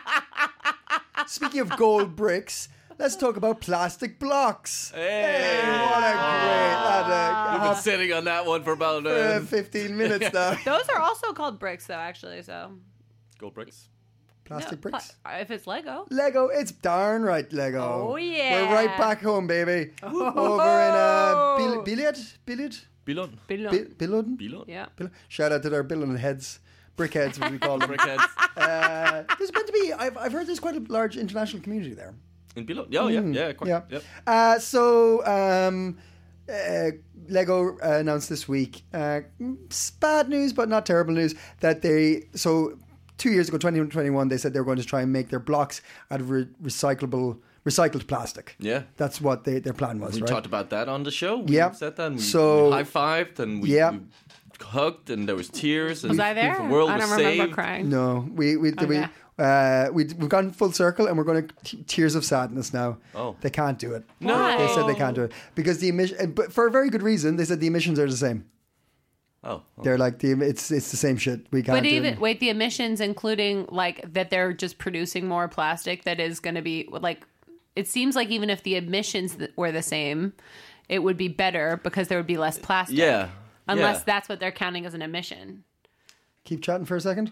S2: speaking of gold bricks, let's talk about plastic blocks.
S3: Hey,
S2: hey what a great! Uh,
S3: You've been sitting on that one for about uh,
S2: uh, fifteen minutes now.
S4: Those are also called bricks, though. Actually, so
S3: gold bricks.
S2: Plastic no, bricks?
S4: Pla- if it's Lego.
S2: Lego, it's darn right Lego.
S4: Oh, yeah.
S2: We're right back home, baby. Oh. Over in uh, Billiard? Billiard?
S3: Billon.
S4: Billon.
S2: Billon?
S3: Billon.
S4: Yeah.
S2: Billon. Shout out to their Billon heads. Brickheads, what we call them.
S3: Brickheads.
S2: Uh, there's meant to be, I've, I've heard there's quite a large international community there.
S3: In Billon? Oh, yeah.
S2: Mm.
S3: Yeah, quite.
S2: Yeah.
S3: Yep.
S2: Uh, so, um... Uh, Lego uh, announced this week, uh, bad news, but not terrible news, that they, so two years ago, twenty twenty-one, they said they were going to try and make their blocks out of re- recyclable, recycled plastic.
S3: Yeah.
S2: That's what they, their plan was,
S3: we
S2: right?
S3: We talked about that on the show. We
S2: yeah.
S3: said that and we,
S2: so,
S3: we high-fived and we,
S2: yeah.
S3: we hugged and there was tears. And
S4: was I there?
S3: The world
S4: I don't
S3: was
S4: remember
S3: saved.
S4: crying.
S2: No. We, we,
S4: okay.
S2: we, Uh, we, we've gone full circle and we're going to t- tears of sadness now.
S3: Oh.
S2: They can't do it.
S3: No.
S2: They said they can't do it. Because the emission, but for a very good reason, they said the emissions are the same.
S3: Oh. oh.
S2: They're like, the it's it's the same shit. We can't
S4: But
S2: do
S4: even,
S2: it.
S4: wait, the emissions including like that they're just producing more plastic that is going to be like, it seems like even if the emissions were the same, it would be better because there would be less plastic.
S3: Yeah.
S4: Unless
S3: yeah.
S4: that's what they're counting as an emission.
S2: Keep chatting for a second.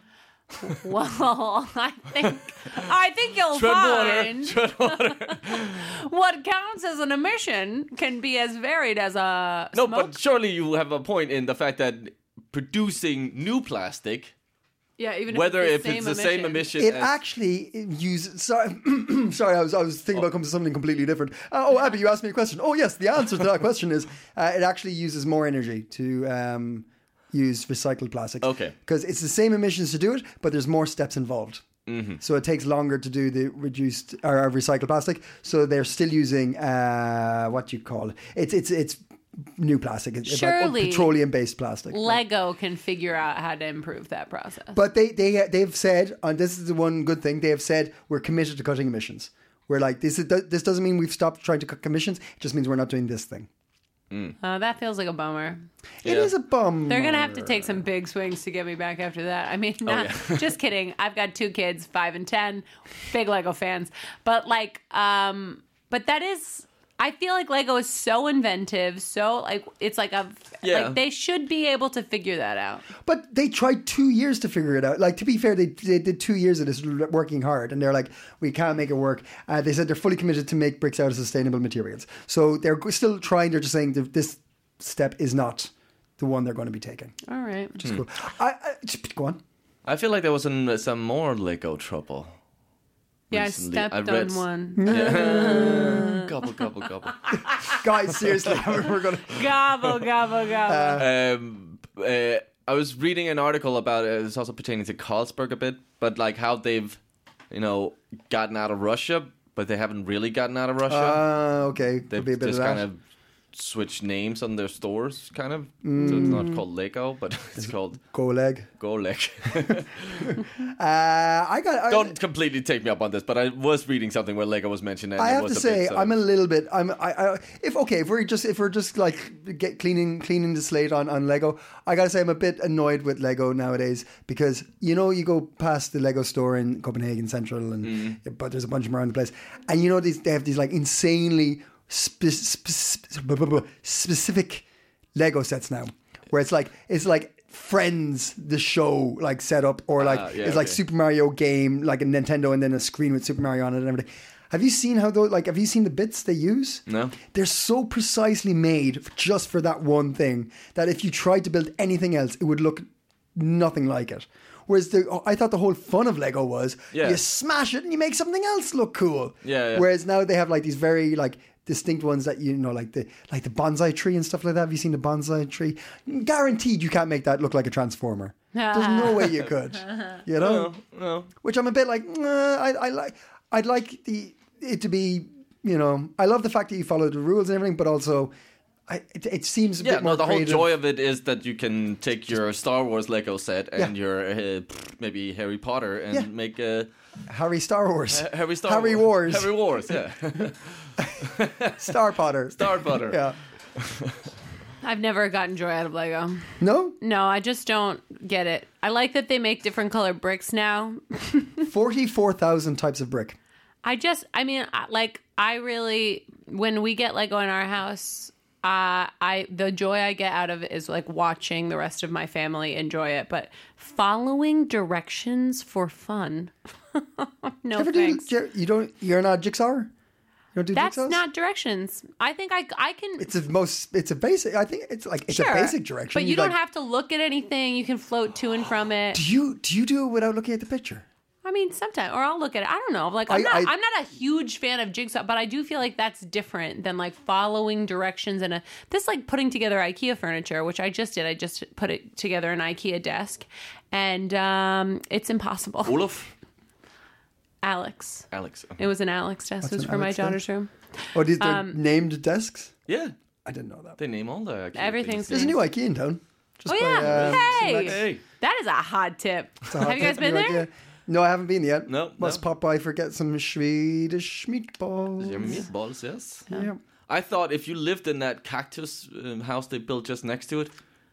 S4: Well, I think I think you'll
S3: Tread
S4: find
S3: water. Tread water.
S4: what counts as an emission can be as varied as a
S3: no,
S4: smoke.
S3: but surely you have a point in the fact that producing new plastic,
S4: yeah, even
S3: whether
S4: if it's the,
S3: if
S4: same,
S3: it's the
S4: emission.
S3: same emission,
S2: It
S3: as,
S2: actually uses. Sorry, sorry. I was I was thinking about coming to something completely different. Uh, oh, Abby, you asked me a question. Oh, yes. The answer to that question is uh, it actually uses more energy to um, use recycled plastics.
S3: Okay.
S2: Because it's the same emissions to do it, but there's more steps involved. Mm-hmm. So it takes longer to do the reduced or uh, recycled plastic. So they're still using uh, what do you call it? It's it's it's new plastic. It's
S4: Surely
S2: like petroleum based plastic.
S4: Lego can figure out how to improve that process.
S2: But they they they've said, and this is the one good thing, they have said we're committed to cutting emissions. We're like this is this doesn't mean we've stopped trying to cut emissions. It just means we're not doing this thing.
S3: Mm.
S4: Uh, that feels like a bummer.
S2: It
S3: yeah.
S2: is a bum.
S4: They're gonna have to take some big swings to get me back after that. I mean, not,
S3: oh, yeah.
S4: just kidding. I've got two kids, five and ten, big Lego fans. But like, um, but that is. I feel like Lego is so inventive, so like it's like a
S3: yeah.
S4: like they should be able to figure that out.
S2: But they tried two years to figure it out. Like to be fair, they they did two years of this working hard, and they're like, we can't make it work. Uh, they said they're fully committed to make bricks out of sustainable materials. So they're still trying. They're just saying that this step is not the one they're going to be taking.
S4: All right,
S2: which is cool. I, I, go on.
S3: I feel like there was some, some more Lego trouble.
S4: Yeah,
S3: recently.
S4: I stepped
S3: I read,
S4: on one.
S3: Yeah. Gobble, gobble. gobble, gobble.
S2: Guys, seriously, we're going to...
S4: Gobble, gobble, gobble.
S3: Um, uh, I was reading an article about it. It's also pertaining to Carlsberg a bit, but like how they've, you know, gotten out of Russia, but they haven't really gotten out of Russia.
S2: Uh, okay.
S3: They've
S2: Could be a bit
S3: just
S2: of that.
S3: kind of switched names on their stores, kind of. So it's not called Lego, but it's called
S2: Go leg.
S3: Go Leg.
S2: Uh, I got... I,
S3: Don't completely take me up on this, but I was reading something where Lego was mentioned. And
S2: I
S3: it
S2: have
S3: was
S2: to
S3: a
S2: say,
S3: bit, sort
S2: I'm a
S3: of-
S2: little bit. I'm. I, I. If okay, if we're just if we're just like get cleaning cleaning the slate on, on Lego, I gotta say I'm a bit annoyed with Lego nowadays because you know you go past the Lego store in Copenhagen Central and
S3: Mm-hmm.
S2: but there's a bunch of them around the place, and you know these they have these like insanely spe- spe- spe- specific Lego sets now, where it's like it's like. Friends, the show, like set up, or like
S3: Ah, yeah,
S2: it's like
S3: okay.
S2: Super Mario game, like a Nintendo, and then a screen with Super Mario on it and everything. Have you seen how those? Like, have you seen the bits they use?
S3: No.
S2: They're so precisely made just for that one thing that if you tried to build anything else, it would look nothing like it. Whereas the, I thought the whole fun of Lego was
S3: Yeah.
S2: you smash it and you make something else look cool.
S3: Yeah, yeah.
S2: Whereas now they have like these very like distinct ones that you know, like the like the bonsai tree and stuff like that. Have you seen the bonsai tree? Guaranteed, you can't make that look like a transformer. There's no way you could. You know,
S3: No, no.
S2: which I'm a bit like. Nah, I, I like. I'd like the it to be. You know, I love the fact that you follow the rules and everything, but also. I, it, it seems a
S3: Yeah,
S2: bit more
S3: no, the
S2: creative.
S3: whole joy of it is that you can take your Star Wars Lego set and
S2: Yeah.
S3: your uh, maybe Harry Potter and
S2: Yeah.
S3: make a
S2: Harry Star Wars,
S3: Harry Star
S2: Harry Wars,
S3: Harry Wars, yeah.
S2: Star Potter,
S3: Star Potter.
S2: Yeah.
S4: I've never gotten joy out of Lego.
S2: No,
S4: No, I just don't get it. I like that they make different colored bricks now.
S2: forty-four thousand types of brick.
S4: I just, I mean, I- like, I really, when we get Lego in our house, uh, I the joy I get out of it is like watching the rest of my family enjoy it, but following directions for fun. no
S2: Ever do,
S4: thanks.
S2: do you, you don't? You're not jigsaw. You don't do
S4: That's
S2: jigsaws?
S4: not directions. I think I I can.
S2: It's a most. It's a basic. I think it's like it's
S4: sure,
S2: a basic direction.
S4: but you
S2: like,
S4: don't have to look at anything. You can float to and from it.
S2: Do you do you do it without looking at the picture?
S4: I mean, sometimes, or I'll look at it. I don't know. Like, I'm
S2: I-
S4: not.
S2: I-
S4: I'm not a huge fan of jigsaw, but I do feel like that's different than like following directions and a this like putting together IKEA furniture, which I just did. I just put it together an IKEA desk, and um, it's impossible.
S3: Olaf?
S4: Alex.
S3: Alex.
S4: It was an Alex desk. It was
S2: an
S4: for my
S2: Alex
S4: daughter's room.
S2: Oh, these are
S4: Um,
S2: named desks.
S3: Yeah,
S2: I didn't know that.
S3: they name all the IKEA
S4: Everything's
S3: things.
S2: There's a new IKEA in town. Just
S4: Oh
S2: by,
S4: yeah.
S2: uh,
S4: hey.
S2: Select-
S3: Hey.
S4: that is a hot tip.
S2: it's a hot
S4: Have you guys
S2: tip,
S4: been
S2: new
S4: there?
S2: IKEA. No, I haven't been yet.
S3: No,
S2: Must
S3: no.
S2: pop by for get some Swedish meatballs.
S3: Your meatballs, yes.
S2: Yeah.
S3: I thought if you lived in that cactus um, house they built just next to it,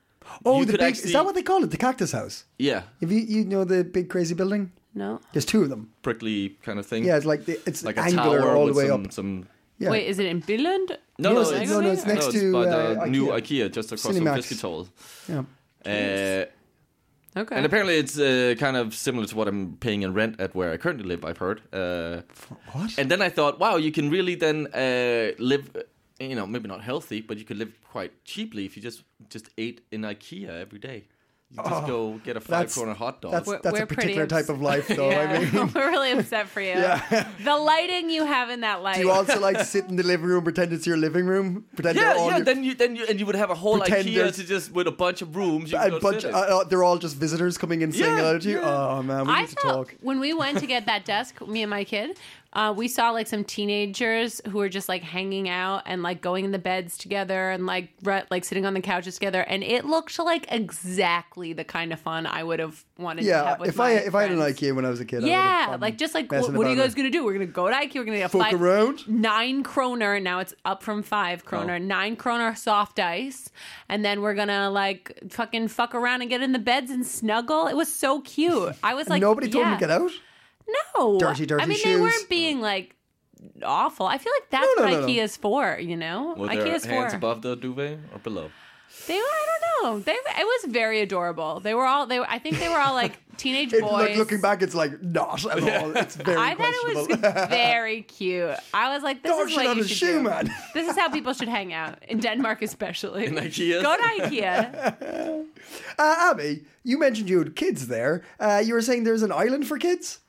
S2: Oh,
S3: You
S2: the
S3: could
S2: big.
S3: actually-
S2: Is that what they call it? The cactus house.
S3: yeah,
S2: If you you know the big crazy building,
S4: No.
S2: there's two of them.
S3: prickly kind of thing.
S2: Yeah, it's like the, it's
S3: like a
S2: angular
S3: tower
S2: all the
S3: with
S2: way
S3: some,
S2: up.
S3: some.
S2: Yeah.
S4: Wait, is it in Billund?
S3: No,
S2: No,
S3: no,
S2: it's-
S3: it's,
S2: no, no, it's next
S3: no,
S2: to,
S3: by the
S2: uh,
S3: new
S2: IKEA.
S3: IKEA just across
S2: Cinemax.
S3: from Fisketoll.
S2: Yeah.
S3: Uh,
S4: Okay.
S3: and apparently it's uh, kind of similar to what I'm paying in rent at where I currently live, I've heard. Uh,
S2: What?
S3: and then I thought, wow, you can really then uh, live, uh, you know, maybe not healthy, but you could live quite cheaply if you just just ate in IKEA every day. You just go get a five
S2: that's-
S3: corner hot dog.
S2: That's
S4: We're-
S2: that's
S4: we're
S2: a particular
S4: pretty
S2: type of life, though.
S4: yeah,
S2: I mean,
S4: we're really upset for you. The lighting you have in that light.
S2: do you also like to sit in the living room, pretend it's your living room, pretend
S3: yeah,
S2: they're all
S3: yeah.
S2: your,
S3: Then you then you and you would have a whole
S2: Pretend
S3: IKEA
S2: there's-
S3: to just with a bunch of rooms. You
S2: a
S3: can go
S2: bunch.
S3: sit in.
S2: Uh, uh, they're all just visitors coming in saying
S3: Yeah,
S2: hello to you.
S3: yeah.
S2: Oh man, we
S4: I
S2: need to
S4: felt
S2: talk.
S4: when we went to get that desk, me and my kid, uh, we saw like some teenagers who were just like hanging out and like going in the beds together and like re- like sitting on the couches together, and it looked like exactly the kind of fun I would have wanted to
S2: Yeah,
S4: have with
S2: if
S4: my
S2: I if I had an
S4: friends.
S2: IKEA when I was a kid, I would
S4: Yeah,
S2: have fun
S4: like just like
S2: messing
S4: what, what are you
S2: about
S4: guys gonna do? We're gonna go to IKEA. We're gonna get a
S2: Fuck
S4: five,
S2: around?
S4: nine kroner. Now it's up from five kroner.
S3: Oh.
S4: Nine kroner soft ice, and then we're gonna like fucking fuck around and get in the beds and snuggle. It was so cute. I was like,
S2: Nobody told
S4: yeah.
S2: them to get out.
S4: No,
S2: Dirty, dirty
S4: I mean,
S2: shoes.
S4: they weren't being like awful. I feel like that's
S2: No, no,
S4: what
S2: no, no.
S4: IKEA's for. You know,
S3: Were their
S4: IKEA's
S3: hands
S4: for.
S3: above the duvet or below?
S4: They were. I don't know. They. It was very adorable. They were all. They. Were, I think they were all like teenage
S2: It,
S4: boys.
S2: like, looking back, it's like not at all. It's very
S4: I thought it was
S2: questionable.
S4: very cute. I was like, this
S2: Dog
S4: is
S2: shit
S4: what
S2: on
S4: you
S2: his
S4: should
S2: shoe,
S4: do.
S2: man.
S4: This is how people should hang out in Denmark, especially.
S3: In IKEA?
S4: Go to IKEA.
S2: Uh, Abby, you mentioned you had kids there. Uh, you were saying there's an island for kids.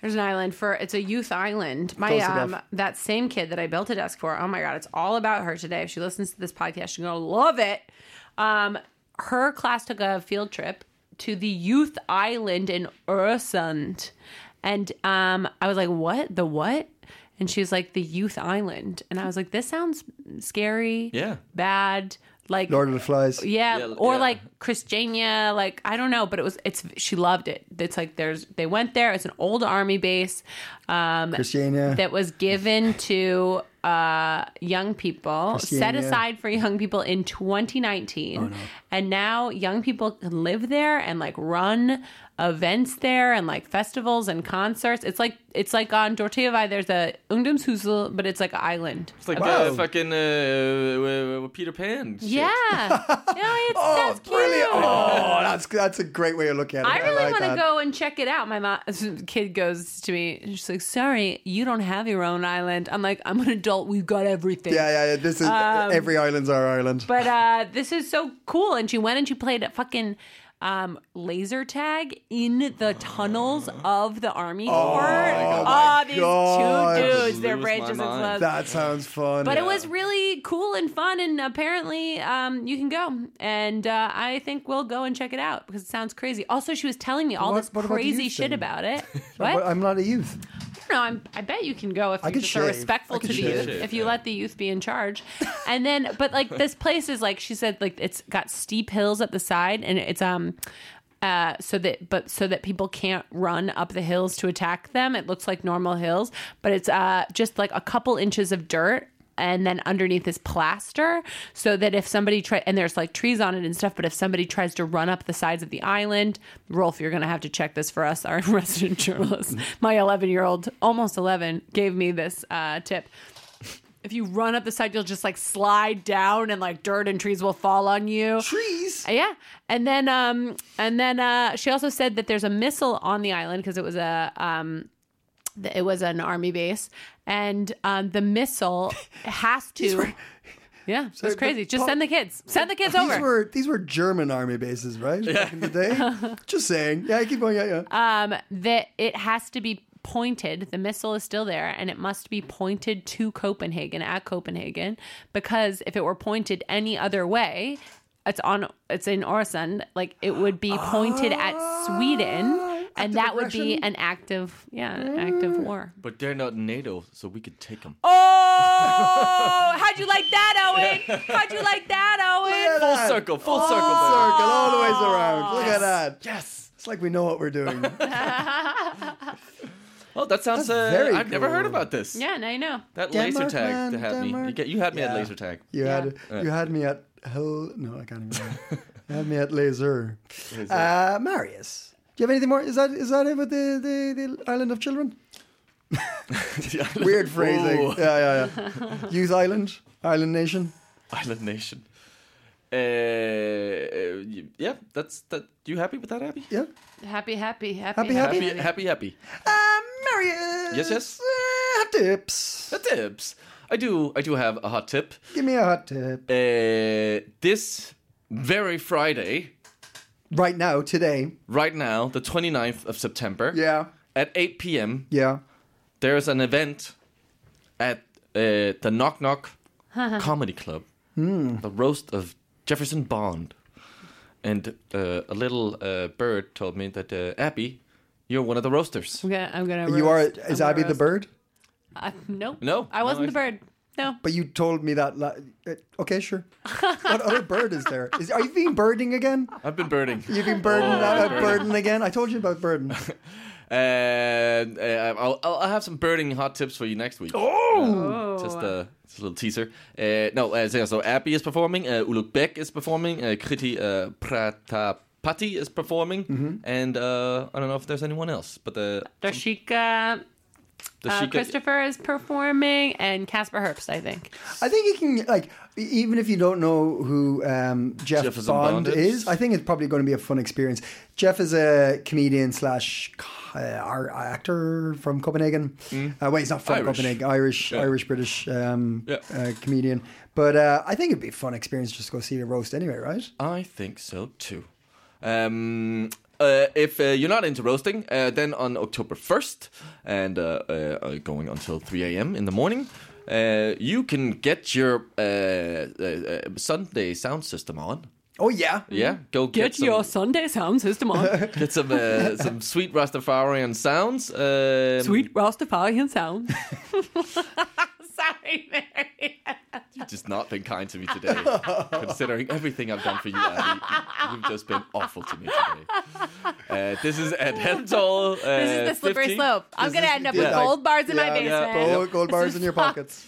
S4: There's an island for, it's a youth island. My,
S2: Close
S4: um,
S2: enough.
S4: that same kid that I built a desk for, oh my God, it's all about her today. If she listens to this podcast, she's going to love it. Um, her class took a field trip to the youth island in Öresund. And um, I was like, what? The what? And she was like, the youth island. And I was like, this sounds scary.
S3: Yeah.
S4: Bad. Like
S2: Lord of the Flies.
S4: Yeah,
S3: Yeah,
S4: or
S3: yeah.
S4: like Christiania, like I don't know, but it was it's she loved it. It's like there's they went there. It's an old army base um
S2: Christiania.
S4: that was given to uh young people, set
S2: Christiania.
S4: aside for young people in twenty nineteen.
S2: Oh, no.
S4: And now young people can live there and like run events there and like festivals and concerts. It's like it's like on Dorteavai there's a Ungdomshusel, but it's like an island.
S3: It's like
S2: Wow.
S3: uh, fucking uh, uh, Peter Pan. shit.
S4: Yeah. yeah, it's
S2: Oh,
S4: that's cute.
S2: brilliant! Oh, that's that's a great way to look at it.
S4: I really
S2: like
S4: want to
S2: that.
S4: go and check it out. My mom, kid goes to me, and she's like, "Sorry, you don't have your own island." I'm like, "I'm an adult. We've got everything."
S2: Yeah, yeah, yeah. This is every island's our island.
S4: Um, But uh, this is so cool. And she went and she played a fucking um, laser tag in the tunnels of the army fort. Oh, these
S2: God.
S4: two dudes,
S3: Just
S4: their
S3: lose
S4: brain
S3: my
S4: just
S3: mind.
S4: explodes.
S2: That sounds fun.
S4: But it was really cool and fun, and apparently um, you can go. And uh, I think we'll go and check it out because it sounds crazy. Also, she was telling me all
S2: What-
S4: this
S2: what about the
S4: crazy
S2: youth
S4: shit
S2: thing?
S4: about it.
S2: But
S4: What?
S2: I'm not a youth.
S4: I don't know. I'm, I bet you can go if
S2: I
S4: you
S2: could
S4: just are
S2: shave.
S4: respectful
S2: I
S4: to
S2: could
S4: the
S2: shave.
S4: youth.
S3: Shave,
S4: If you
S3: yeah.
S4: let the youth be in charge, and then, but like this place is like she said, like it's got steep hills at the side, and it's um, uh, so that but so that people can't run up the hills to attack them. It looks like normal hills, but it's uh just like a couple inches of dirt. And then underneath is plaster, so that if somebody try and there's like trees on it and stuff, but if somebody tries to run up the sides of the island, Rolf, you're gonna have to check this for us, our resident journalist. My eleven year old, almost eleven, gave me this uh, tip. If you run up the side, you'll just like slide down, and like dirt and trees will fall on you.
S2: Trees.
S4: Uh, Yeah, and then um, and then uh, she also said that there's a missile on the island because it was a um. It was an army base, and um, the missile has to. Yeah, so it's
S2: the
S4: crazy. Just
S2: po-
S4: send the kids. Send the kids
S2: These
S4: over.
S2: were these were German army bases, right? Back in the day. Just saying. Yeah, keep going. Yeah, yeah.
S4: Um, that it has to be pointed. The missile is still there, and it must be pointed to Copenhagen at Copenhagen, because if it were pointed any other way, it's on. It's in Öresund. Like it would be pointed at Sweden. And
S2: Active
S4: that would be
S2: aggression?
S4: an active, yeah, an active war.
S3: But they're not NATO, so we could take them.
S4: Oh, how'd you like that, Owen? How'd you like that, Owen?
S3: Full circle, full circle.
S2: Full
S3: baby.
S2: circle all the ways around. Look at that.
S3: Yes.
S2: It's like we know what we're doing.
S3: Oh, that sounds.
S2: That's
S3: Uh,
S2: very
S3: I've never heard
S2: cool.
S3: about this.
S4: Yeah, now you know.
S3: That
S2: Denmark,
S3: laser tag
S2: man,
S3: that had me.
S2: Denmark.
S3: You, get, you had me
S2: Yeah.
S3: at laser tag.
S2: You
S4: Yeah.
S2: had you had me at hell. No, I can't even. Remember. You had me at laser. Uh, Marius, do you have anything more? Is that is that it with the the, the Island of Children? Weird phrasing.
S3: Ooh.
S2: Yeah, yeah, yeah. Youth Island, Island Nation.
S3: Island Nation. Uh, uh, yeah, that's that. You happy with that, Abby?
S2: Yeah.
S4: Happy, happy, happy,
S2: Happy,
S3: Happy, happy, happy.
S2: Uh, Marius.
S3: Yes, yes?
S2: Uh, hot tips.
S3: The tips. I do. I do have a hot tip.
S2: Give me a hot tip.
S3: Uh, this very Friday,
S2: Right now, today.
S3: right now, the twenty-ninth of September,
S2: Yeah.
S3: at eight p.m.,
S2: Yeah.
S3: there's an event at uh, the Knock Knock Comedy Club, the roast of Jefferson Bond. And uh, a little uh, bird told me that, uh, Abby, you're one of the roasters.
S4: I'm gonna, I'm gonna
S2: You are.
S4: roast.
S2: Is
S4: I'm
S2: Abby
S4: gonna
S2: the
S4: roast.
S2: bird?
S4: Uh, nope.
S3: No,
S4: I wasn't
S3: no,
S4: the bird. No.
S2: But you told me that. La- uh, okay, sure. What other bird is there? Is, are you being birding again?
S3: I've been birding.
S2: You've been birding, uh, birding again? I told you about birding.
S3: And uh, I'll, I'll I'll have some birding hot tips for you next week.
S4: Oh.
S3: Just, uh, just a little teaser. Uh, no, uh, so, so Abby is performing. Uh, Uluk Bek is performing. Uh, Kriti uh, Pratapati is performing. And uh, I don't know if there's anyone else, but the
S4: Darshika,
S3: the
S4: uh,
S3: Shika-
S4: Christopher is performing, and Casper Herbst, I think.
S2: I think you can, like, e- even if you don't know who um, Jeff
S3: Jefferson
S2: Bond,
S3: Bond
S2: is,
S3: is.
S2: I think it's probably going to be a fun experience. Jeff is a comedian slash uh, our actor from Copenhagen. Uh, well, he's not from
S3: Irish.
S2: Copenhagen, Irish,
S3: Yeah.
S2: Irish, British um,
S3: Yeah.
S2: uh, comedian. But uh, I think it'd be a fun experience just to go see a roast anyway, right?
S3: I think so too. Um, Uh, if uh, you're not into roasting, uh, then on October first and uh, uh, going until three a.m. in the morning, uh, you can get your uh, uh, Sunday sound system on.
S2: Oh yeah,
S3: Yeah, go get,
S4: Get
S3: some,
S4: your Sunday sound system on.
S3: get some uh, some sweet Rastafarian sounds. Um,
S4: Sweet Rastafarian sound. Sorry, Mary.
S3: You've just not been kind to me today, considering everything I've done for you, Abby. You've just been awful to me today. Uh, this is Ed Hemptall. Uh,
S4: This is the slippery
S3: fifty.
S4: slope. I'm
S2: This
S4: going to
S2: is-
S4: end up
S2: yeah.
S4: with gold bars in my
S2: Yeah,
S4: basement.
S3: yeah.
S2: Gold, gold bars in your pockets.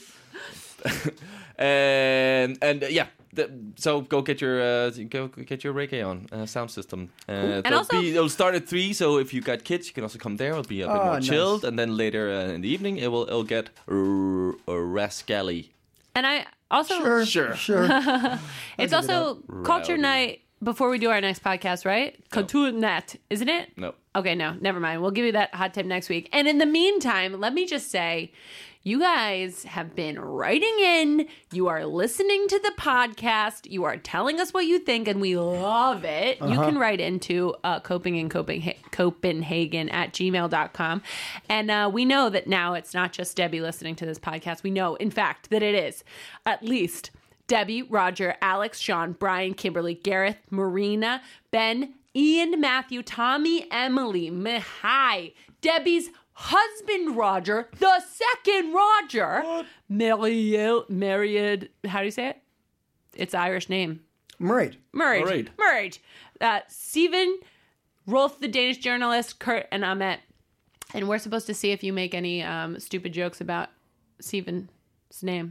S3: and and uh, yeah, the, so go get your uh, go get your reggae on uh, sound system. Uh,
S4: And
S3: it'll
S4: also-
S3: be, it'll start at three. So if you got kids, you can also come there. It'll be a bit
S2: Oh,
S3: more
S2: nice.
S3: chilled, and then later uh, in the evening, it will it'll get r- r- rascally.
S4: And I also,
S2: Sure,
S3: Sure.
S2: sure.
S4: it's also Culture
S3: Rowdy.
S4: Night before we do our next podcast, right? Culture Night, isn't it?
S3: No.
S4: Okay, no, never mind. We'll give you that hot tip next week. And in the meantime, let me just say, you guys have been writing in. You are listening to the podcast. You are telling us what you think, and we love it. You can write into uh, coping in Copenha- Copenhagen at gmail dot com. And uh, we know that now it's not just Debbie listening to this podcast. We know, in fact, that it is at least Debbie, Roger, Alex, Sean, Brian, Kimberly, Gareth, Marina, Ben, Ian, Matthew, Tommy, Emily, Mihai, Debbie's husband, Roger, the second Roger, Mariel, Mariad, how do you say it? It's Irish name.
S2: Murray.
S4: Murray.
S3: Murray.
S4: Murray. Uh, Stephen, Rolf, the Danish journalist, Kurt, and Ahmet. And we're supposed to see if you make any um, stupid jokes about Stephen's name.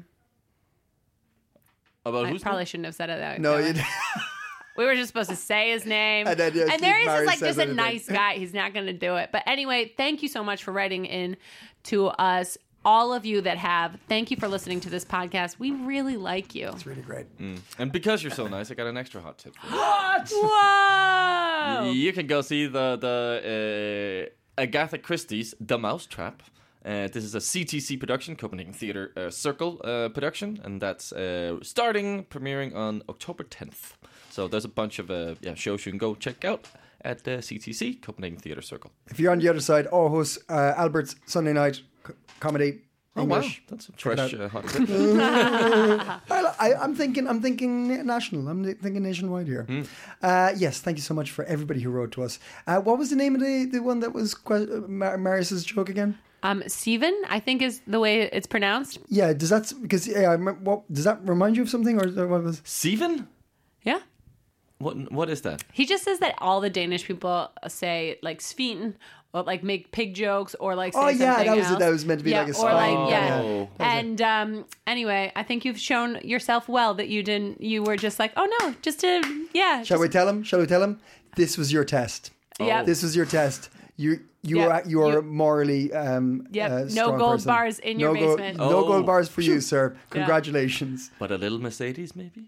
S3: About
S4: I
S3: who's
S4: probably shouldn't have said it that
S2: No,
S4: way.
S2: you.
S4: We were just supposed to say his name.
S2: And then, yeah,
S4: and there
S2: Steve
S4: he's
S2: Murray
S4: just like
S2: says
S4: just a
S2: anything.
S4: nice guy. He's not going to do it. But anyway, thank you so much for writing in to us. All of you that have, thank you for listening to this podcast. We really like you.
S2: It's really great.
S3: And because you're so nice, I got an extra hot tip for you.
S4: Whoa!
S3: You can go see the the uh, Agatha Christie's The Mousetrap. Uh, this is a C T C production, Copenhagen Theatre uh, Circle uh, production, and that's uh, starting, premiering on October tenth. So there's a bunch of uh, yeah shows you can go check out at the C T C, Copenhagen Theatre Circle.
S2: If you're on the other side, Aarhus, uh, Albert's Sunday night c- comedy. English.
S3: Oh wow, that's a fresh
S2: it
S3: uh, hot tip.
S2: I, I, I'm thinking. I'm thinking national. I'm thinking nationwide here. Uh, yes, thank you so much for everybody who wrote to us. Uh, what was the name of the, the one that was que- uh, Mar- Marius's joke again?
S4: Um, Steven, I think is the way it's pronounced.
S2: Yeah, does that because yeah, I remember, what does that remind you of something or what was?
S3: Steven?
S4: Yeah.
S3: What what is that?
S4: He just says that all the Danish people say like Svin or like make pig jokes or like say
S2: Oh, yeah,
S4: something
S2: that was-
S4: else.
S2: that was meant to be
S4: yeah,
S2: like a
S4: or
S2: song.
S4: like yeah.
S3: Oh.
S4: And um, anyway, I think you've shown yourself well that you didn't. You were just like, oh no, just to yeah.
S2: Shall
S4: just,
S2: we tell him? Shall we tell him? This was your test.
S4: Yeah.
S2: This was your test. You you
S4: Yep.
S2: are you are
S4: You-
S2: a morally um,
S4: Yep.
S2: uh,
S4: No
S2: strong
S4: gold
S2: person.
S4: bars in your
S2: no gold-
S4: basement.
S2: no
S3: Oh.
S2: gold bars for you, sir. Congratulations.
S3: But a little Mercedes, maybe?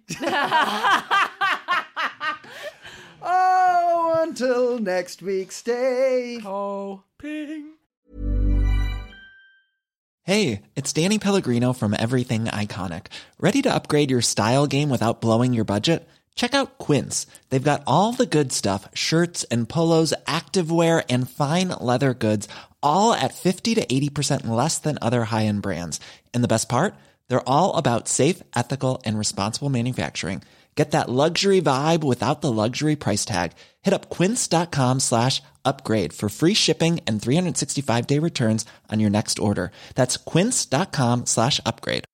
S2: Oh, until next week, stay.
S4: Oh.
S3: Ping.
S7: Hey, it's Danny Pellegrino from Everything Iconic. Ready to upgrade your style game without blowing your budget? Check out Quince. They've got all the good stuff, shirts and polos, activewear, and fine leather goods, all at fifty to eighty percent less than other high-end brands. And the best part? They're all about safe, ethical, and responsible manufacturing. Get that luxury vibe without the luxury price tag. Hit up quince.com slash upgrade for free shipping and three sixty-five day returns on your next order. That's quince.com slash upgrade.